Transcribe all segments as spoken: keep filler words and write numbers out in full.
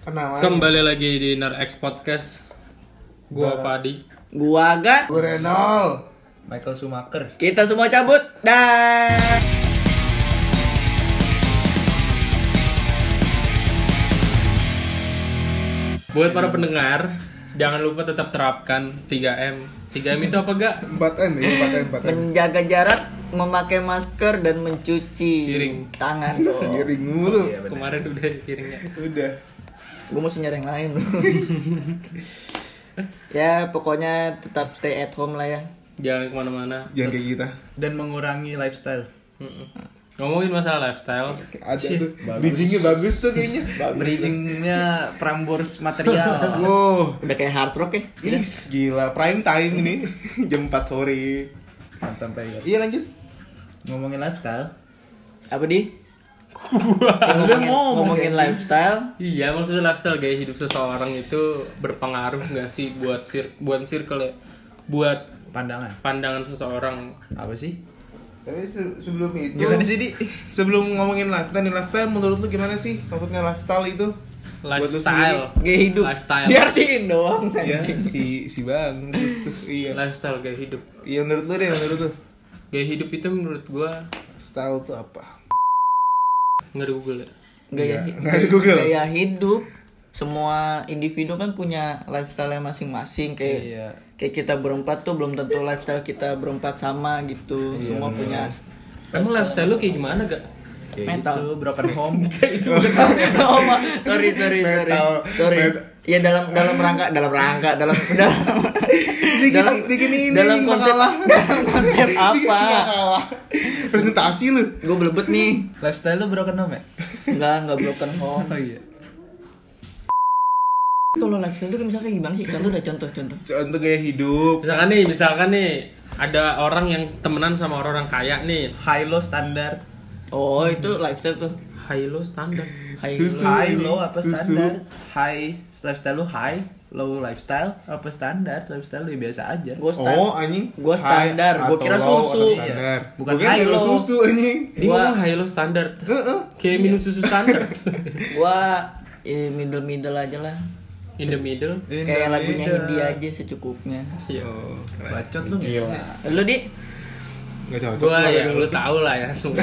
Namanya. Kembali lagi di Nerx Podcast. Gua Fadi. Gua Agat. Gua Renol. Michael Schumacher. Kita semua cabut. Dah. Buat para pendengar, jangan lupa tetap terapkan tiga M. tiga M itu apa gak? empat M ya, empat M, empat M. Menjaga jarak, memakai masker dan mencuci Piring. tangan dong. Giring mulu. Iya, bener. Kemarin udah piringnya. Udah. Gue mesti nyari yang lain. Ya pokoknya tetap stay at home lah ya. Jangan kemana-mana. Jangan kayak kita. Dan mengurangi lifestyle. Mm-mm. Ngomongin masalah lifestyle. Ada Sih, tuh. bagus. Bridgingnya bagus tuh kayaknya. Bridgingnya Prambors material. Wow. Udah kayak hard rock ya. Is, gila. Prime time ini. Jam empat sore. Mantan player. Iya lanjut. Ngomongin lifestyle. Apa di? Ya, ngomongin, ngomong, ngomongin kayak lifestyle. Iya, maksudnya lifestyle gaya hidup seseorang itu berpengaruh nggak sih buat sir buat circle ya? Buat Pandangan. pandangan seseorang. Apa sih? Tapi se- sebelum itu Gimana sih, Di? Sebelum ngomongin lifestyle, nih lifestyle menurut lu gimana sih? Maksudnya lifestyle itu? Buat lu Lifestyle. Gaya hidup. Lifestyle. Diartiin doang. Iya, si si Bang terus tuh. Iya. Lifestyle gaya hidup. Iya menurut lu deh, menurut lu. Gaya hidup itu menurut gua Style tuh apa? nggak di Google ya. Gaya, Nggak, nggak di Google. gaya hidup. Semua individu kan punya lifestyle masing-masing kayak Iya. kayak kita berempat tuh belum tentu lifestyle kita berempat sama gitu. Semua punya Emang lifestyle lu kayak gimana gak? Kayak Mental. gitu, broken home. oh, ma- sorry sorry sorry Metal. sorry Metal. ya dalam dalam rangka dalam rangka dalam dalam dalam bikin ini dalam konsep makalah. dalam konsep Bikin apa makalah. Presentasi lu. gue belebet nih Lifestyle lu broken home ya? enggak enggak broken home Oh iya. kalau lifestyle itu misalnya kayak gimana sih contoh dah contoh contoh Contoh gaya hidup. Misalkan nih, misalkan nih ada orang yang temenan sama orang kaya nih. High low standar. oh itu lifestyle tuh High low standar. high Susu. High low apa Susu. standar? High lifestyle lu high, low lifestyle apa standar? Lifestyle lu ya biasa aja. gue stand Oh anjing. Gua standar. High Gua atau kira low susu. atau standar. Iya. Bukan Gua kira high lo low. susu anjing. Ini Gua- ngomong high low standar. Heeh. Kayak minum susu standar. gue eh, middle middle aja lah In the middle. In kayak the lagunya middle. Hindi aja secukupnya Iya. Oh, keren. Bacot lu Gila. lu di Enggak cocok. Gua lah ya dengan lu tahu lah ya semua.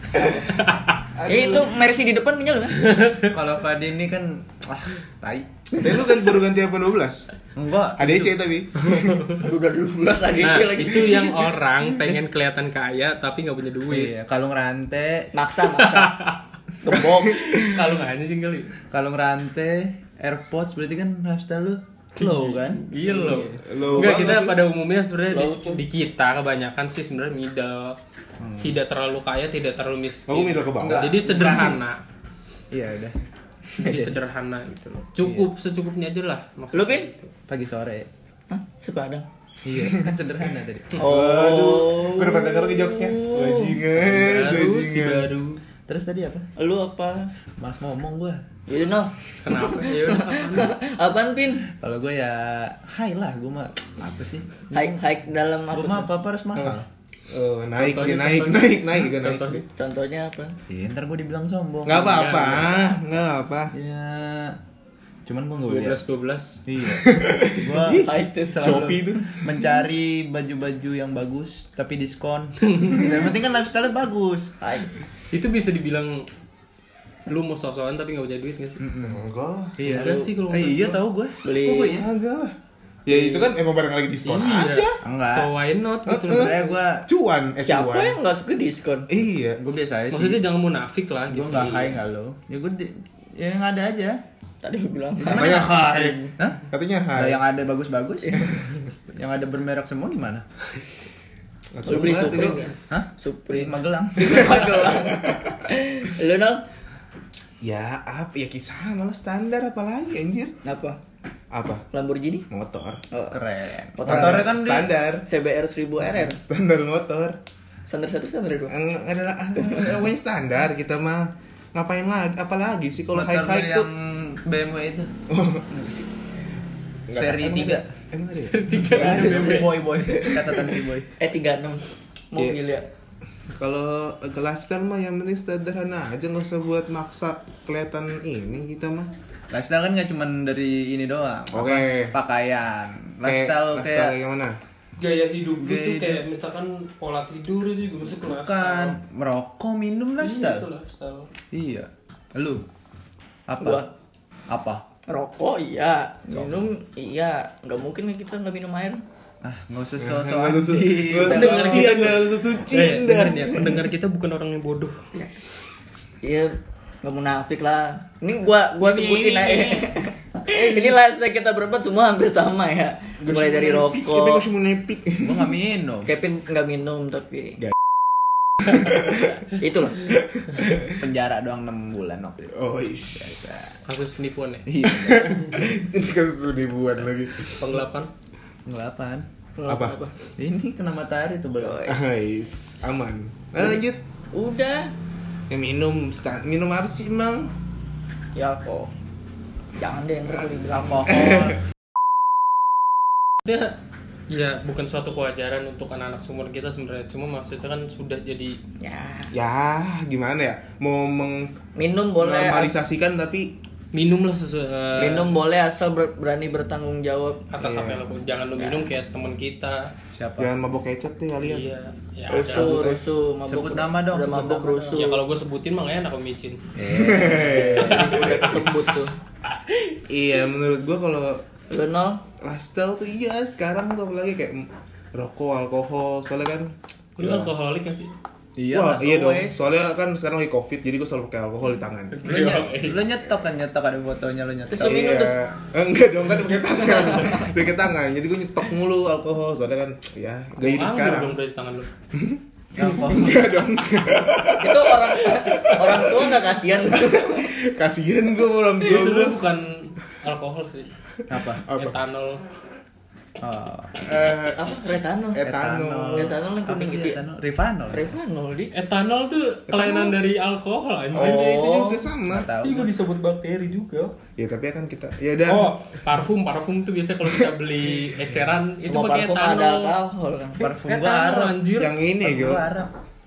ya itu Mercy di depan punya lu kan Kalau Fadi ini kan ah, tai. Tapi lu kan baru ganti apa dua belas? Enggak. A D C tapi. udah dua belas A D C Nah, lagi itu yang orang pengen kelihatan kaya tapi nggak punya duit. Iya, kalau ngerante, maksa maksa gembok Kalau nggak anjing kali. kalau ngerante AirPods berarti kan lifestyle lu low kan? Iya loh. Low Enggak, kita banget. pada umumnya sebenarnya di, Low tuh. di kita kebanyakan sih sebenarnya middle. Tidak terlalu kaya, tidak terlalu miskin. Aku middle ke bawah. Enggak. Jadi sederhana. Iya udah. Jadi sederhana gitu loh. Cukup secukupnya aja lah maksudnya. Lu, Pin? gitu. Pagi sore. Hah? Sepadang Iya, kan sederhana tadi. oh Gue udah pada denger ke jokesnya. Bajingan, Baru si bajingan. baru. Terus tadi apa? lu apa Mas ngomong gua. you know Kenapa? Ya udah apaan? apaan Pin Kalau gua ya high lah, gua mah apa sih? hike hike dalam apa Gua mah tuh? apa-apa harus mahal. Oh, naik, Contohnya, dia naik, contohnya. naik, naik, juga naik. Contohnya. contohnya apa Iya, ntar gua dibilang sombong. Enggak apa-apa, enggak apa. Ya, cuman gua nggak dua boleh. belas dua belas. Iya. Gua High tuh. selalu Shopee tuh. mencari baju-baju yang bagus tapi diskon. Yang penting kan lifestyle bagus. hike Itu bisa dibilang lu mau sok-sokan tapi nggak punya duit nggak sih? Enggak lah. Iya. Enggak sih kalau Eh, menurut iya gua. tahu gua. Beli- Kok gua ya? Enggak lah. Ya itu kan emang barang lagi diskon aja. Iya. Enggak. So why not gitu. Eh, Sebenarnya gua Cuan, eh siapa cuan. yang nggak suka diskon Iya. gua biasa aja sih. Maksudnya jangan munafik lah Gue gitu. nggak high nggak low. Ya gue di, ya yang ada aja. tadi lu bilang Katanya high. Hah? Katanya Nah, high. yang ada bagus-bagus. Yang ada bermerek semua gimana? lu beli Supreme ya Hah? Supreme Magelang. Magelang lu nol Ya apa ya kisah malah standar apalagi anjir. apa Apa? Lamborghini Motor. oh. Keren. Motor Motornya kan di standar. C B R seribu R R Standar motor. standar satu standar dua Enggak ada pokoknya standar kita mah ngapain lagi apalagi sih kalau high motor high yang tuh B M W itu. Nggak Seri ada- tiga. Emang ada ya? Tiga Ada B M W. Si boy boy. Catatan si boy. E tiga puluh enam mobil ya Kalau ke lifestyle mah yang penting sederhana aja, nggak usah buat maksa kelihatan ini kita mah. Lifestyle kan nggak cuma dari ini doang. Oke. Apa, pakaian. Lifestyle kayak, kayak, lifestyle kayak mana? Gaya hidup Gaya itu hidup. kayak misalkan pola tidur itu juga masuk ke bukan lifestyle. merokok, minum Iya, itu lifestyle. lifestyle. Iya. Lu apa? Gua. Apa? Rokok iya, minum iya, nggak mungkin kan kita nggak minum air. Ah, nggak usah so-so Nggak usah- anjing. nggak usah Pendengar suci kita anda, bukan- nggak usah suci Eh, anda. dengerin ya, pendengar kita bukan orang yang bodoh. Iya, nggak munafik lah. Ini gua gua sebutin aja. Ini lifestyle kita berempat semua hampir sama ya. Mulai dari Tapi rokok. masih mau nepik. Gua nggak minum. Kevin nggak minum tapi Nggak. itulah. Penjara doang enam bulan waktu itu. Oh is. Kasus penipuan ya, Iya. Ini kasus ribuan lagi. penggelapan. Ngelapan. Apa? Ini kena matahari tuh belum. Ais, aman. Nah, lanjut. Udah. Yang minum, sta- minum apa sih emang? Ya kok. Jangan deh ntar gua dibilang. Alkohol. Dia ya bukan suatu kewajaran untuk anak-anak seumur kita sebenarnya, cuma maksudnya kan sudah jadi Ya, Ya, gimana ya? Mau minum boleh. as- mengnormalisasikan tapi minum lah sesuai eh, minum boleh asal ber- berani bertanggung jawab. atas apa yang lo jangan lo minum kayak teman kita. Siapa? jangan mabok kecap deh kalian. Iya, ya Rusuh, ada. rusuh, mabuk. Sebut nama dong, Udah sebut mabuk nama rusuh. Ya kalau gue sebutin mah nggak enak lo micin. Udah kesebut tuh. Iya, menurut gua kalau Lu nol? lifestyle tuh iya sekarang tuh apalagi kayak rokok, alkohol, soalnya kan Lu alkoholik gak sih? Iya. wah, lah. iya dong. wes. Soalnya kan sekarang lagi covid, jadi gue selalu pakai alkohol di tangan. Lu, ny- lu nyetok kan nyetok ada fotonya lu nyetok. Terus lu minum tuh? Eh, enggak dong, kan pakai tangan. Pakai tangan. Jadi gue nyetok mulu alkohol, soalnya kan ya gaya hidup Ambil sekarang. dong berarti tangan lu. Alkohol. Enggak dong. Itu orang orang tua nggak kasihan. Kasihan gue orang Itu tua gue. sebenarnya bukan alkohol sih. Apa? Apa? Etanol. Oh. Eh, Apa? Retanol. etanol. Etanol yang Apa kuning sih gitu. ya? etanol? Rivanol. Revanol di. Etanol tuh kelainan dari alkohol anjir. Oh, itu Oh. juga sama. Nggak tahu. Itu juga disebut bakteri juga. Ya tapi kan kita ya udah. Oh, parfum, parfum tuh biasa kalau kita beli eceran itu Semua pakai parfum etanol. ada alkohol kan. Parfum gua Etanol, Arab. anjir. Yang ini Parfum gue. gua Arab.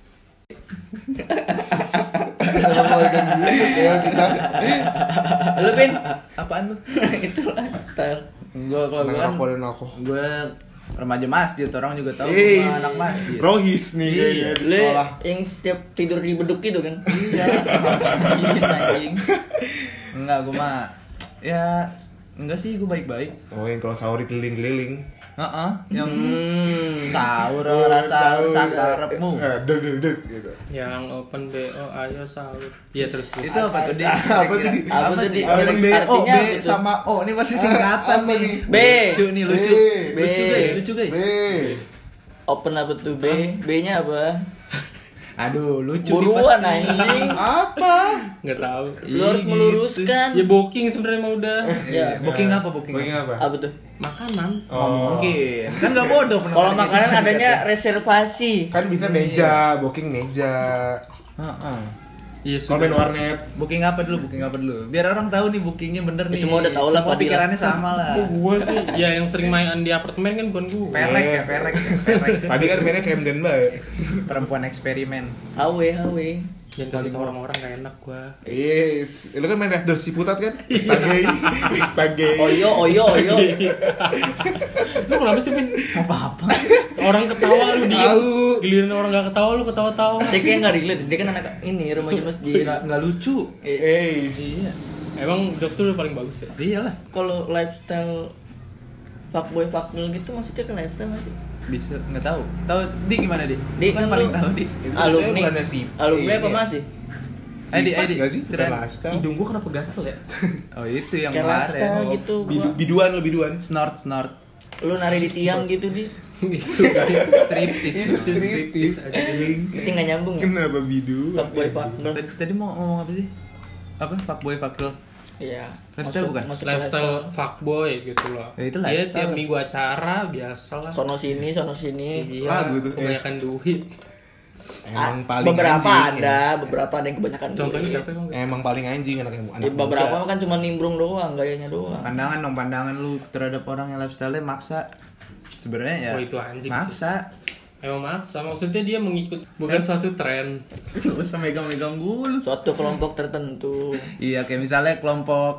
Lu Pin? Apaan lu? Itu lifestyle. Gua kalau gua Anak kan rokok dan alkohol. gua remaja masjid, orang juga tahu Is, gua anak masjid. Rohis nih Iya. kayaknya di Lu sekolah. yang setiap tidur di beduk itu kan. Iya. Iya, anjing. Enggak, gua mah ya enggak sih, gua baik-baik. Oh, yang kalau sahur keliling-keliling. Heeh, yang Hmm. sahur rasa sakarepmu. Eh, deg deg deg gitu. Yang open B O ayo sahur. Iya terus. terus. Itu apa tuh, Dik? Apa tuh, Dik? Apa tuh, Dik? Open B O, Artinya B apa itu? sama O. Ini pasti singkatan Apa nih. nih? B. Lucu nih, lucu. B. Lucu guys, lucu guys. B. Open apa tuh B? B-nya apa? Aduh, lucu nih Buruan pasti. anjing. Apa? Nggak tahu. Lu harus Ih, meluruskan. Ya booking sebenarnya mah udah. Ya. Booking apa, booking? Booking apa? Apa tuh? Makanan. Oh, mungkin. Kan enggak bodoh penonton Kalau kita. makanan adanya reservasi. Kan bisa meja, booking meja. Heeh. Iya Kalau main sudah. warnet. Booking apa dulu? Booking apa dulu? Biar orang tahu nih bookingnya bener nih. Semua udah tahu lah, Semua Fadila. pikirannya sama lah. Oh, gua sih ya yang sering main di apartemen kan bukan gua. Perek ya, perek, ya, perek. Tadi kan mainnya Camden bae. Perempuan eksperimen. H W H W. Jangan kasih tau orang-orang gak enak gua. Yes, lu kan main Red Door Ciputat kan? Stagay, Stagay. Oyo oyo oyo. Lu kenapa sih, Pin? Apa-apa. Orang ketawa lu diem. Tahu. Giliran orang gak ketawa lu ketawa-tawa. Dia kayak nggak relate. Dia kan anak ini remaja masjid. Enggak enggak lucu. Eh, Iya. Emang jokes lu paling bagus ya? Iyalah. Kalau lifestyle fuckboy fuckgirl gitu maksudnya ke lifestyle masih? Bisa enggak tahu. Tahu di gimana, Di? Di kan kan paling lu- tahu, Di. Alumni. bukannya si- Alumni apa ini ya? masih? Edi, Cipat Edi. nggak sih? Bukan Seren. lifestyle. Hidung gua kenapa gatel ya? Oh, itu yang Kayak lifestyle kemarin. gitu. Bi- Gua. Biduan lu biduan. Snort, snort. Lu nari di tiang gitu di. Gitu kayak Striptease. Itu striptease aja. Itu nggak nyambung ya? Kenapa bidu? Fuckboy fuckgirl. Tadi, tadi mau ngomong apa sih? Apa? Fuckboy, fuckgirl. Iya. Lifestyle bukan? masuk ke lifestyle fuckboy gitu loh. Ya, itu Dia lifestyle. tiap minggu acara biasa lah. Sono sini, sono sini. Iya, Lagu tuh, kebanyakan duit. Emang Ah, paling beberapa anjing, ada, ya. beberapa ada yang kebanyakan Contohnya duit. siapa emang? Emang paling anjing anak anak Ya, beberapa muda. kan cuma nimbrung doang, gayanya doang. Pandangan dong, pandangan lu terhadap orang yang lifestyle-nya maksa. Sebenarnya ya Oh, itu anjing sih. maksa. Emang maksa, maksudnya dia mengikut bukan suatu tren. Gak usah megang-megang gue lu. Suatu kelompok tertentu, Iya, kayak misalnya kelompok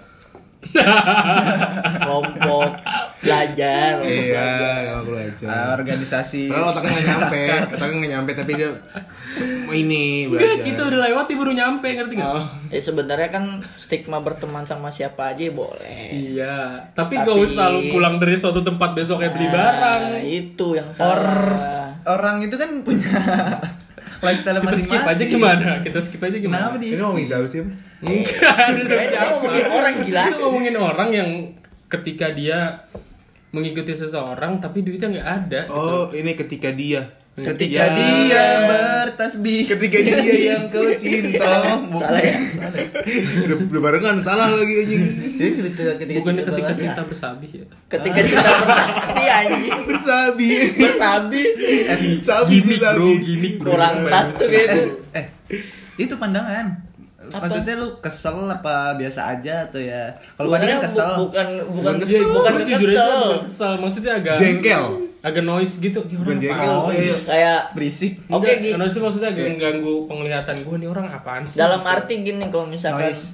kelompok belajar, kelompok Iya, belajar. emang aku aja. uh, organisasi. Padahal otaknya nggak nyampe, otaknya nggak nyampe tapi dia mau ini Enggak, belajar. kita udah lewat dia baru nyampe, ngerti nggak? Oh. Eh sebenarnya kan stigma berteman sama siapa aja boleh. Iya, tapi Tapi- gak usah lu pulang dari suatu tempat besoknya beli barang. Nah, itu yang Or salah. orang itu kan punya lifestyle Kita skip masing-masing. aja gimana? Kita skip aja gimana? Kenapa di Ini ngomongin jauh sih. Enggak, ada Kita siapa? ngomongin orang gila. Kita ngomongin orang yang ketika dia mengikuti seseorang tapi duitnya nggak ada. Oh, ini ketika dia. Ketika Ya. dia bertasbih, Ketika dia yang kau cinta. Salah ya. udah, udah barengan salah lagi anjing. Jadi ketika ketika Bukannya cinta ketika banget. cinta bersabih ya? Ketika kita bertasbih anjing. Bersabi. Bersabi. Eh, Sabi Gimik sabi. bro, gimik bro. Kurang Supaya tas tuh lucu. gitu. eh, itu pandangan. Apa? Maksudnya lu kesel apa biasa aja atau ya? Kalau pandangan Sebenarnya kesel. bu- bukan bukan Bukan kesel, kesel. bukan Gua jujur aja kesel. bukan kesel, maksudnya agak Jengkel. agak noise gitu. Ya, Bukan orang jengkel, apaan sih? kayak- Kayak berisik. Oke, Enggak, Gi. noise itu maksudnya agak mengganggu penglihatan gue nih orang apaan sih? dalam arti gini kalau misalkan Noise.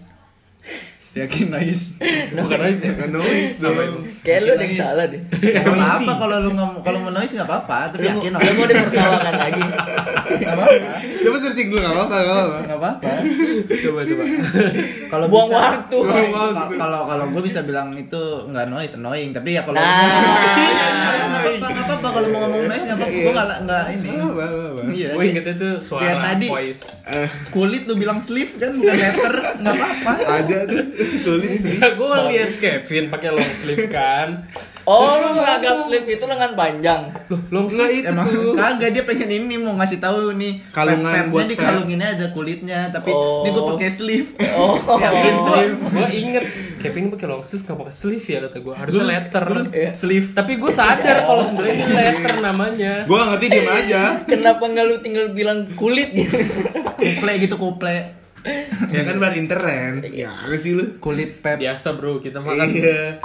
Yakin noise. Bukan noise ya? Nggak noise dong. kayak lu ada yang Noise. salah deh. Gak Noisy. apa-apa kalau lu ngom- kalau mau noise nggak apa-apa, tapi Lu, yakin lu noise. mau ditertawakan lagi. Nggak apa-apa. Coba searching dulu enggak apa-apa, enggak apa-apa. Nggak apa-apa. Coba coba. Kalau Buang bisa- waktu. Buang waktu. Kalau- Kalau kalau gue bisa bilang itu nggak noise, annoying. Tapi ya kalau Nah. noise nggak apa-apa, nggak apa-apa. Kalau mau ngomong noise nggak apa-apa. Gue nggak nggak ini. Enggak apa-apa, enggak apa-apa. Iya. Gue ingetnya tuh suara Kayak tadi. voice. Eh, Kulit lu bilang sleeve kan bukan letter, nggak apa-apa. ada tuh tulis sih. Enggak, gue lihat Kevin pakai long sleeve kan. Oh, lu menganggap sleeve itu lengan panjang. Loh, long Enggak sleeve. itu. Emang kagak dia pengen ini mau ngasih tahu nih Kalungan vape-vape-nya buat di vape. kalunginnya ada kulitnya tapi Oh. ini gue pakai sleeve. Oh. Ya, pakai sleeve. Gue inget Kevin pakai long sleeve nggak pakai sleeve ya kata gue. Harusnya letter. Iya. Sleeve. Tapi gue sadar kalau sebenarnya ini letter namanya. Gua nggak ngerti diem aja. Kenapa nggak lu tinggal bilang kulit gitu? Kuple gitu kuple. Ya kan bar intern. Ya, apa sih lu? Kulit pep. Biasa bro, kita makan. Iya.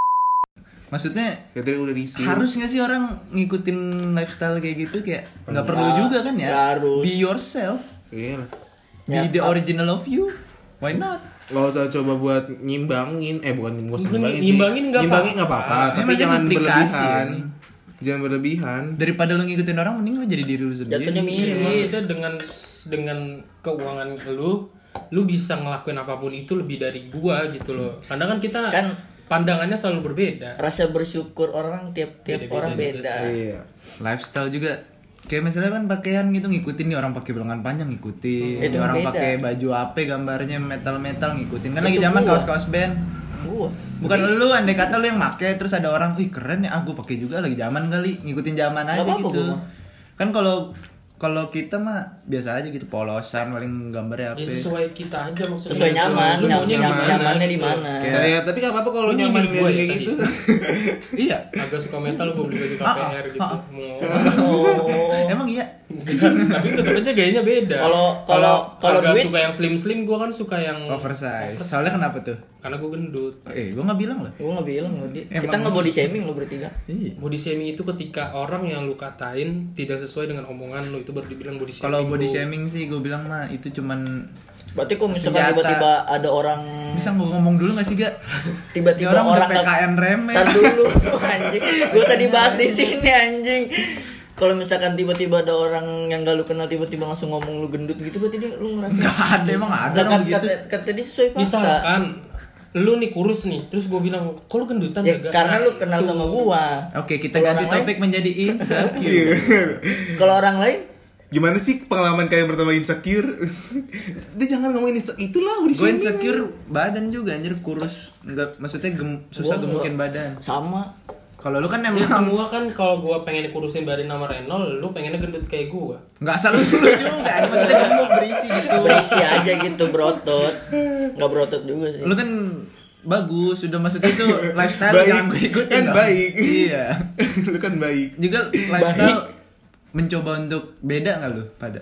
Maksudnya Katanya udah diisi. harus nggak sih orang ngikutin lifestyle kayak gitu kayak nggak perlu Nggak, juga kan ya? nggak harus. Be yourself. Iya lah. Be Ya, the original of you. Why not? Gak usah coba buat nyimbangin, eh bukan nggak usah Bukan nyimbangin, nyimbangin sih. nggak nyimbangin apa-apa. nggak apa-apa, tapi Emang jangan jadi duplikasi, berlebihan. ya. Jangan berlebihan. Daripada lu ngikutin orang mending lu jadi diri lu sendiri. Jatuhnya Iya, miris. maksudnya dengan dengan keuangan lu, lu bisa ngelakuin apapun itu lebih dari gua gitu loh. Karena kan kita Kan pandangannya selalu berbeda. rasa bersyukur orang tiap-tiap Beda-beda orang juga beda. Iya. Lifestyle juga kayak misalnya kan pakaian gitu ngikutin nih orang pakai lengan panjang ngikutin, Hmm. Itu orang beda. pakai baju apa gambarnya metal-metal ngikutin. Kan Itu lagi zaman gua. kaos-kaos band. Gua. Bukan lu, andai kata lu yang make terus ada orang, "Wih, keren ya, aku pakai juga lagi zaman kali." Ngikutin zaman aja apa-apa gitu. gua mah. Kan kalau kalau kita mah biasa aja gitu, polosan paling gambarnya apa. Ya sesuai kita aja maksudnya. Sesuai nyaman, Sesuai nyam- nyaman. nyam- nyamannya di mana. Kayak- Ya, tapi gak apa-apa kalau Lu nyaman nyindir gua liatin ya kayak tadi? gitu. Iya. Agak suka metal gue beli baju K P R gitu. Mau. Oh. Emang iya. Tapi tetap aja gayanya beda. Kalau- kalau- kalau agak duit- suka yang slim slim, gue kan suka yang Oversize. Soalnya kenapa tuh? karena gue gendut. Eh, gua nggak bilang loh. Gua nggak bilang lo, Di. Kita Emang- nggak body shaming lo bertiga. Iya. Body shaming itu ketika orang yang lu katain tidak sesuai dengan omongan lu, itu baru dibilang body shaming. Kalau body bro. shaming sih gue bilang mah itu cuman Berarti kok misalkan Senjata. tiba-tiba ada orang bisa gua ngomong dulu gak sih, Ga? tiba-tiba Ini orang udah orang P K N remeh. Tar dulu anjing. Gua usah dibahas di sini anjing. Kalau misalkan tiba-tiba ada orang yang gak lu kenal tiba-tiba langsung ngomong lu gendut gitu berarti dia lu ngerasa Nggak ada, emang ada Lah, orang kata, begitu. kata, kata dia sesuai fakta. Misalkan lu nih kurus nih, terus gue bilang, kok lu gendutan Ya, Gaga?" karena lu kenal Tuh. sama gua. Oke, kita Kalau ganti orang topik menjadi insecure. Iya. Kalau orang lain Gimana sih pengalaman kalian pertama insecure? Dia jangan ngomongin insecure itulah body Gue shaming. insecure badan juga anjir, kurus. Enggak, maksudnya gem, susah Gua gemukin enggak. badan. sama. Kalau lu kan Ya emang semua kan kalau gue pengen kurusin badan sama Renol, lu pengennya gendut kayak gue. enggak selalu dulu juga. Maksudnya gemuk berisi gitu. Berisi aja gitu berotot. Enggak berotot juga sih. Lu kan bagus, sudah maksudnya itu lifestyle Baik. jangan gue ikutin Kan dong. baik. Iya. Lu kan baik. Juga lifestyle mencoba untuk beda nggak lu pada?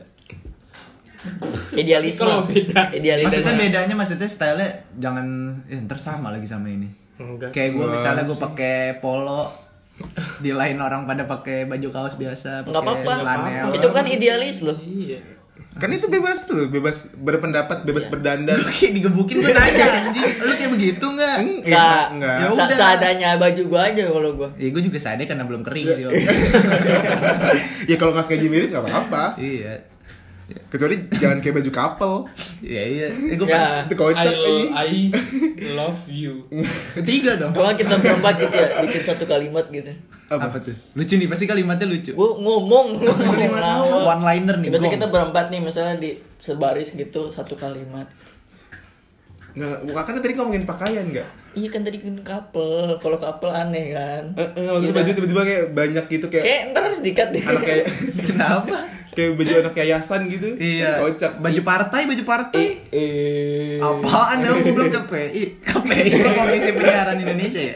Idealisme. Kalau beda. Idealisme. Maksudnya bedanya maksudnya stylenya jangan eh, ntar sama lagi sama ini. Enggak. Kayak gue Wah, misalnya gue sih. pakai polo Di lain orang pada pakai baju kaos biasa, Nggak pakai apa-apa. flanel. Itu kan idealis loh. Iya. Kan itu bebas tuh, bebas berpendapat, bebas berdandan. Lu kayak digebukin gue nanya anjing. Lu kayak begitu enggak? Enggak. enggak. Ya Sa- udah. seadanya baju gua aja kalau gua. Ya gue juga sadar karena belum kering sih. Om. Ya kalau nggak sengaja mirip nggak apa-apa. Iya. Kecuali jangan kayak baju couple. Iya iya. Eh, gue Ya. Itu kocak I, aja. I love you. ketiga dong. Kalau kita berempat gitu ya, bikin satu kalimat gitu. Apa? tuh? Lucu nih, pasti kalimatnya lucu. Gua ngomong, ngomong lawak. One liner nih. Ya, biasanya gong. kita berempat nih, misalnya di sebaris gitu satu kalimat. Nggak, bukan tadi ngomongin pakaian nggak? Iya kan tadi kan couple, kalau couple aneh kan. Eh, eh, maksudnya baju tiba-tiba kayak banyak gitu kayak Kayak ntar harus dikat deh. anak kayak Kenapa? kayak baju anak yayasan gitu. Iya. Kocak. Baju partai, baju partai. Eh, Apaan ya? Gue bilang K P I. K P I Komisi Penyiaran Indonesia ya.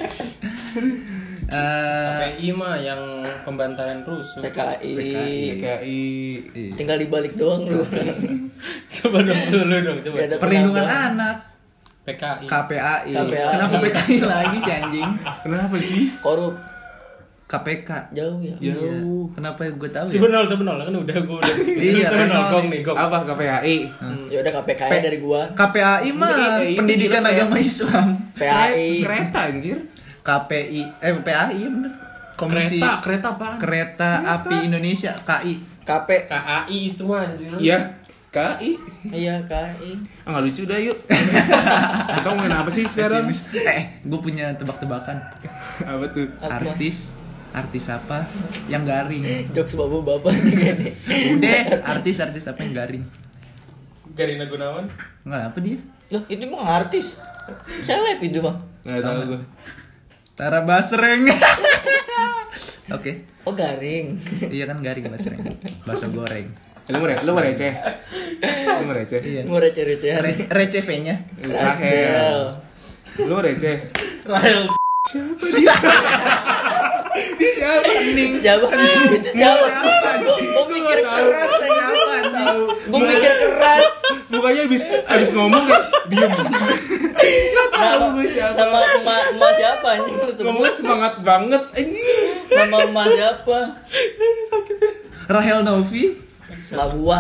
Eh, P I mah yang pembantaian rusuh. P K I. P K I. Tinggal dibalik doang lu. Coba dong dulu dong coba. Nggak ada perlindungan penambah. anak. P K I. K P A I. K P A I. Kenapa P K I lagi sih anjing? Kenapa sih? Korup K P K. jauh ya. Jauh. Iya. Kenapa gue tahu Coba ya? nol, coba nol kan udah gue udah. Iya, coba kan nol nol gong nih. nih gong. Apa K P H I? Ya udah K P K I dari gua. K P A I mah Iya, iya, Pendidikan iya, iya. Agama Islam. P A I. Kereta anjir. K P I eh P A I ya bener. Komisi Kereta, kereta apaan? Kereta Api Indonesia K I. K P. K A I itu anjir. Iya. K I. Iya K I. Ah nggak lucu dah yuk. Kita ngomongin apa sih sekarang? Eh, gue punya tebak-tebakan. Apa tuh? Apa? Artis Artis apa yang garing? Jokes bapak-bapak nih kayaknya. Udah, artis-artis apa yang garing? Garina Gunawan. Enggak apa dia? Loh, itu mah artis. Seleb itu bang. Nggak tahu gue. Tara Basreng. Oke. Oh garing. Iya kan garing Basreng. Bakso goreng. Lu mau re- lu mau receh? Lu mau receh? Iya. Mau receh-recehan. Re- receh V-nya. Rahel. Lu mau receh? Rahel. Siapa dia? Dia siapa? Siapa? Itu siapa? Gue mikir keras aja. Siapa tahu? Gue mikir keras. Mukanya habis habis ngomong ya diem. Enggak tahu gue siapa. Nama emak emak siapa anjing lu sebut? Ngomongnya semangat banget anjing. Nama emak siapa? Rahel Novi. Emak gua.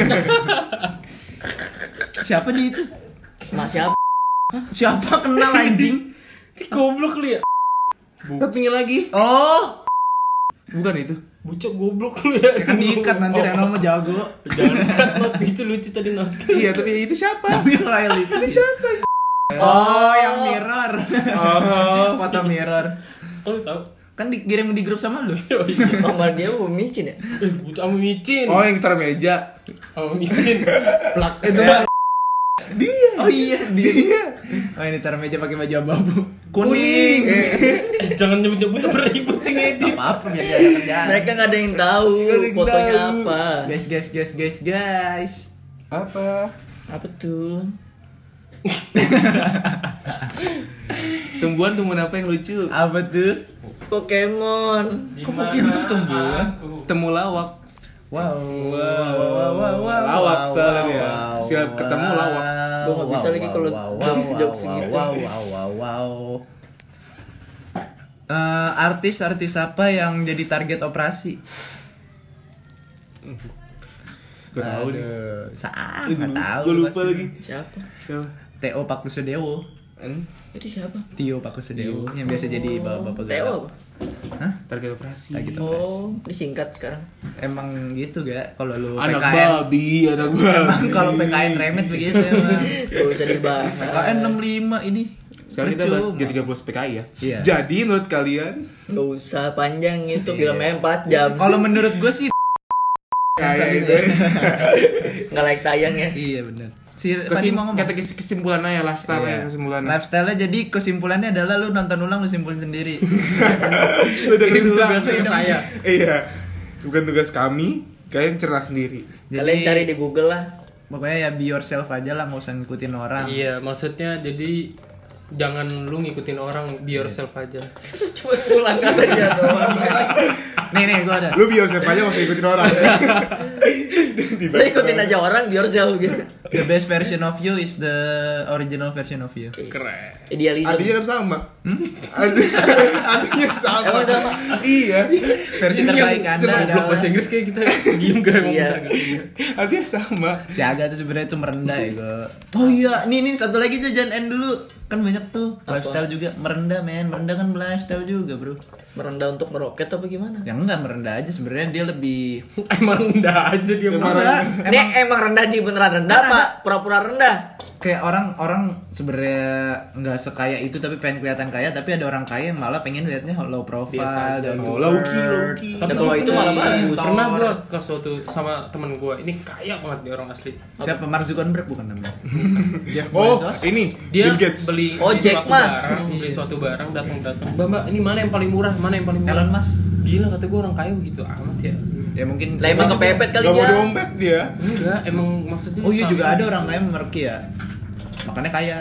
Siapa dia itu? Emak siapa? Siapa kenal anjing? Goblok lu ya. Satunya lagi. Oh, Bukan itu. Bocok goblok lu ya. kan diikat nanti Reno mau jago. Jangan cut not itu lucu tadi not. Iya, tapi itu siapa? Tapi Rahel itu. Itu siapa? Oh, yang mirror. Oh, Foto mirror. Oh lu tahu? Kan dikirim di grup sama lu. Oh iya. Sama dia gua micin ya. Eh, butuh sama micin. Oh, yang taruh meja. Sama micin. Plak itu mah. Dia. Oh iya, dia. Oh ini taruh meja pakai baju abu-abu. Kuning. Eh, jangan nyebut-nyebut beribut yang edit. Apa-apa biar dia ada kerjaan. Mereka nggak ada yang tahu Nggak ada yang fotonya tahu. apa. Guys, guys, guys, guys, guys. Apa? Apa tuh? Tumbuhan-tumbuhan apa yang lucu? Apa tuh? Pokemon. Di Pokemon mana tumbuhan? aku? Temu lawak. Wow, wow, wow, wow, wow, Lawak wow, soalnya wow, dia. wow, Siap ketemu wow, lawak. Gua nggak bisa wow, lagi wow, kalau wow, jokes- wow, jokes wow, gitu. wow, wow, wow, wow. Eh, artis-artis apa yang jadi target operasi? Gue tahu nih. Aduh, Saat Gue nggak tahu. lupa pasti. lagi. Siapa? Siapa? Teo Pakusudewo. An? Itu siapa? Tio Pakusudewo yang biasa jadi bapak-bapak Teo galak. apa? Hah? Target operasi. Target operasi. Oh, disingkat sekarang. Emang gitu gak? Kalau lu Anak P K N, babi, anak babi. emang kalau P K N remet begitu emang. Gak usah dibahas. P K N enam puluh lima ini. Sekarang kita bahas Percuma. jadi tiga belas P K I ya. Iya. Jadi menurut kalian Gak usah panjang itu Iya. filmnya empat jam. Kalau menurut gue sih kayak gitu. Nggak like tayang ya. iya benar. Si Fadi Kesim, mau ngomong. kata kes- kesimpulannya ya lifestyle Iya. ya kesimpulannya. Lifestyle-nya jadi kesimpulannya adalah lu nonton ulang lu simpulin sendiri. Lu dengerin Ini ulang. tugasnya saya. Iya. Bukan tugas kami, kalian cerah sendiri. Kalian cari di Google lah. Pokoknya ya be yourself aja lah, nggak usah ngikutin orang. Iya, maksudnya jadi jangan lu ngikutin orang, be yourself aja. Cuma ulang kata dia doang. Nih nih gua ada. Lu biar siapa aja, gak usah ikutin orang. Lu ikutin aja orang biar jauh gitu. The best version of you is the original version of you. Keren. Idealisme. Artinya kan sama. Arti- Artinya sama. Emang sama? Iya. Versi terbaik Anda Coba goblok adalah bahasa Inggris kayak kita diem gak ngomong Iya. gitu. Artinya sama. si Aga tuh sebenarnya tuh merendah ya gua. Oh iya, nih nih satu lagi tuh jangan end dulu. Kan banyak tuh Apa? lifestyle juga merendah men, merendah kan lifestyle juga, Bro. Merendah untuk meroket apa gimana? Yang enggak merendah aja sebenarnya dia lebih Emang rendah aja dia Emang mah. enggak, Ini emang rendah di beneran rendah apa pura-pura rendah? kayak orang-orang sebenarnya nggak sekaya itu tapi pengen kelihatan kaya, tapi ada orang kaya yang malah pengen liatnya low Biasa profile aja. dan Oh, low-key, low-key. Ya, kalau itu malah bagus. Pernah gua ke suatu sama temen gua, ini kaya banget dia orang asli. Siapa? Mark Zuckerberg bukan namanya? Jeff Oh, Bezos. ini Dia Bill Gates. beli, Oh, beli Jack suatu Ma. barang, beli suatu barang datang-datang. Mbak, mbak, ini mana yang paling murah? Mana yang paling murah? Elon Musk. Gila kata gua orang kaya begitu amat ya. Ya mungkin Lah emang kepepet kali Gak mau dia. dompet dia. Enggak, emang maksudnya Oh iya sama. juga ada orang kaya memerki ya. Makanya kaya.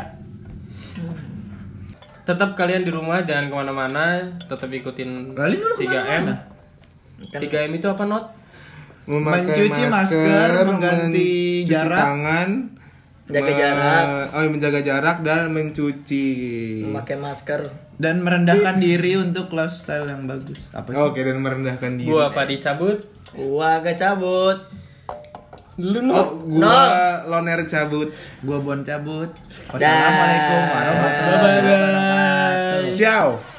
Tetap kalian di rumah jangan kemana-mana, tetap ikutin Lali dulu tiga M. kemana-mana? Kan tiga M itu apa, Not? Memakai Mencuci masker, mengganti mencuci jarak. tangan, Jaga me- jarak. oh, menjaga jarak dan mencuci. Memakai masker. Dan merendahkan diri untuk lifestyle yang bagus. Apa sih? Oke, dan merendahkan diri. Gua apa dicabut? Gua agak cabut. Lu Oh, Not. gua loner cabut. Gua bon cabut. Wassalamualaikum warahmatullahi Bye-bye. wabarakatuh. Ciao.